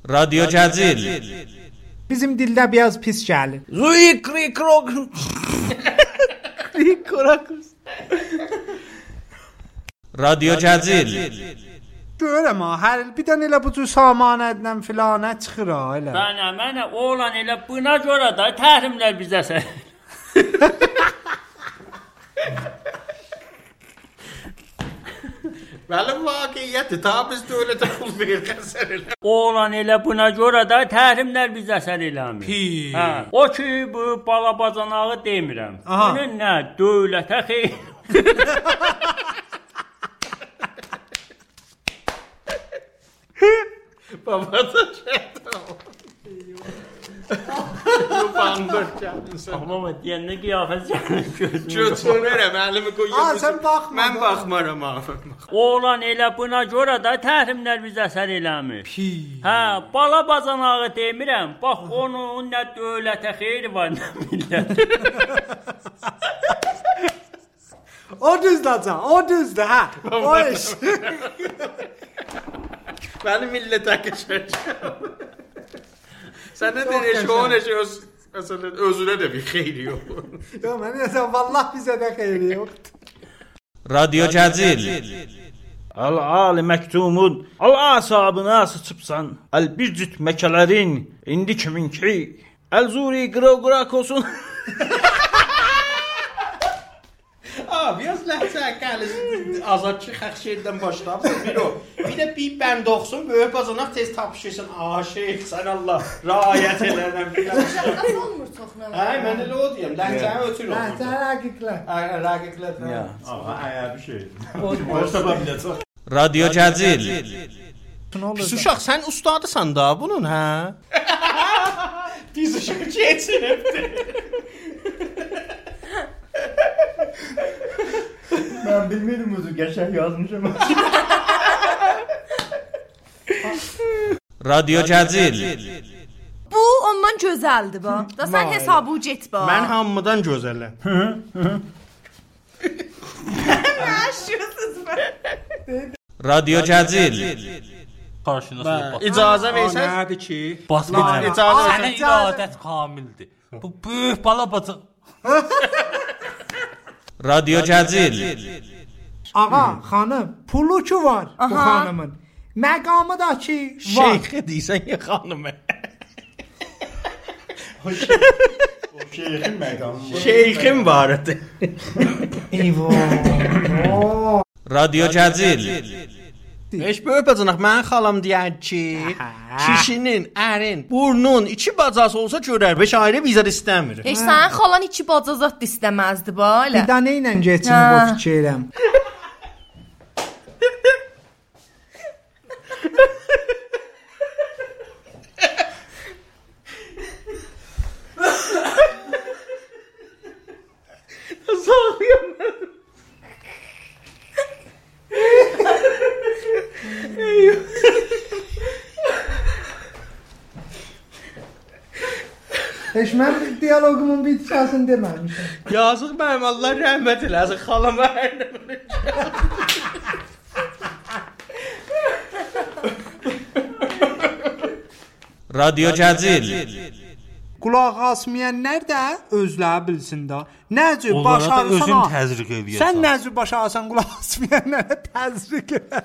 Radyo Cəzil. Bizim dildə biraz pis gəlir. Radyo Cəzil. Görəm ha, hər il bir dənə elə bu cür samanədən filanə çıxır ha elə. Mənə oğlan elə buna görə də təhrimlər bizə sən. Bəli, vaqiyyətdir. Ta biz dövlətə pul verəsələr. Oğlan elə buna görə də təhrimlər bizə əsər eləmir. Hə, o ki bu balabacanağı demirəm. Bunun nə dövlətə xeyir. Babada şeytan. Yubandır kendisi. Amma deyəndə qiyafət gözünü. Götürürəm, əlimi qoyuyorum. Sən baxma. Mən baxmaram abi. Oğlan elə buna görə də təhrimlər bizə əsər eləmir. Hə, balabacanağı demirəm. Bax onun nə dövlətə xeyri var, nə millət. O düzdür can, o düzdür ha. O iş. Mənim millətə keçəcəm. Sən nə deyirsən, o necə özünə də bir xeyri yox. Yox, mən deyirəm, vallah bizə də xeyri yoxdur. Radyo Cəzil. Al-ali məktumun, al-asabına sıçıbsan, əl-bir cüt məkələrin, indi kiminki, əl-zuri qıra-qırak olsun. Biraz ləhcə gəlisi azadçı xəxşiyədən başlayıb. Bir də bir bənd oxusun, böyük bacanaq tez tapışırsın. Şeyx, sən Allah rayət elərəm. Nasıl olmur çoxuna? Hə, mən elə o deyəm. Ləhcəni ötür olur. Ləhcə rəqiqlər. Rəqiqlər. Bir şey. Radyo Cəzil. Pis uşaq, sən ustadısan da bunun, hə? Pis uşaq keçinibdir. Mən bilmirdim özü, qəşəng yazmışam. Radyo Cəzil. Bu ondan gözəldir bu. Da sən hesabı get bax. Mən hamıdan gözələm. Yaşıyorsunuz be. Radyo Cəzil. Qarşınızda bax. İcazə versən? Nədir ki? Basma. İcazə Sənə iradət kamildir. Bu böyük balabacaq. Radyo Cəzil. Ağa, xanım, pulu ki var bu xanımın. Məqamı da ki var. Şeyxə deyirsən ya xanımı. O şeyxin məqamı. Şeyxim var idi. Eyvah. Radyo Cəzil. Heç böyük bacanaq, mənim xalam deyər ki, kişinin, ərin, burnun iki bacası olsa görər, 5 ayrı vizar istəmir. Heç sənin xalan iki bacazat da istəməzdi bu elə. Bir dənə ilə geçinib o fikirəm. Heç mən diyalogumun bitkisini deməmişəm. Yazıq mənim, Allah rəhmət eləsin, xalam ərinə. Radyo Cəzil. Qulaq asmayanlar da özləri bilsin da. Nəcə baş ağrısan. Özün təzriq eləyəsən. Sən nəcə baş ağrısan qulaq asmayanlara təzriq elə.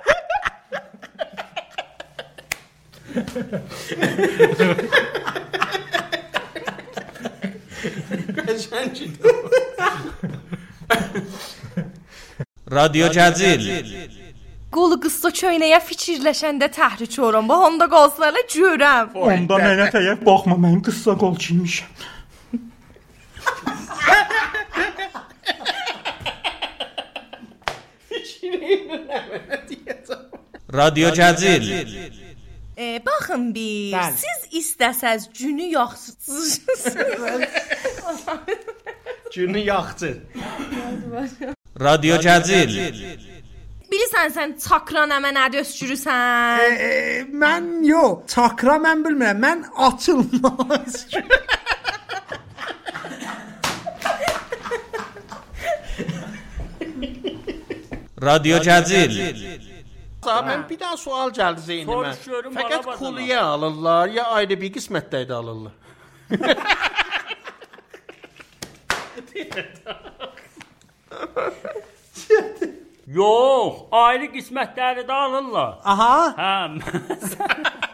Radyo Cəzil. Qolu qıssa köynəyə fikirləşəndə təhrik oram. Bax onda qalsınlar görəm. Onda mənə təyək baxma, mən qıssa qol giymişəm. Radyo Cəzil. Baxın bir, siz istəsəz günü yaxşısınız. Günü yaxçı. Radyo Cəzil. Bilirsən sən çakra nəmə nədə öskürürsən? Mən yox, çakra mən bilmirəm. Mən açılmaz. Radyo Cəzil. Yoxsa mən bir daha sual gəldi zeynimə. Soruşuyorum, Fəqət bana kuluya alırlar ya ayrı bir qismətdə də alırlar. Yox, ayrı qismətləri də alırlar. Aha. Hə.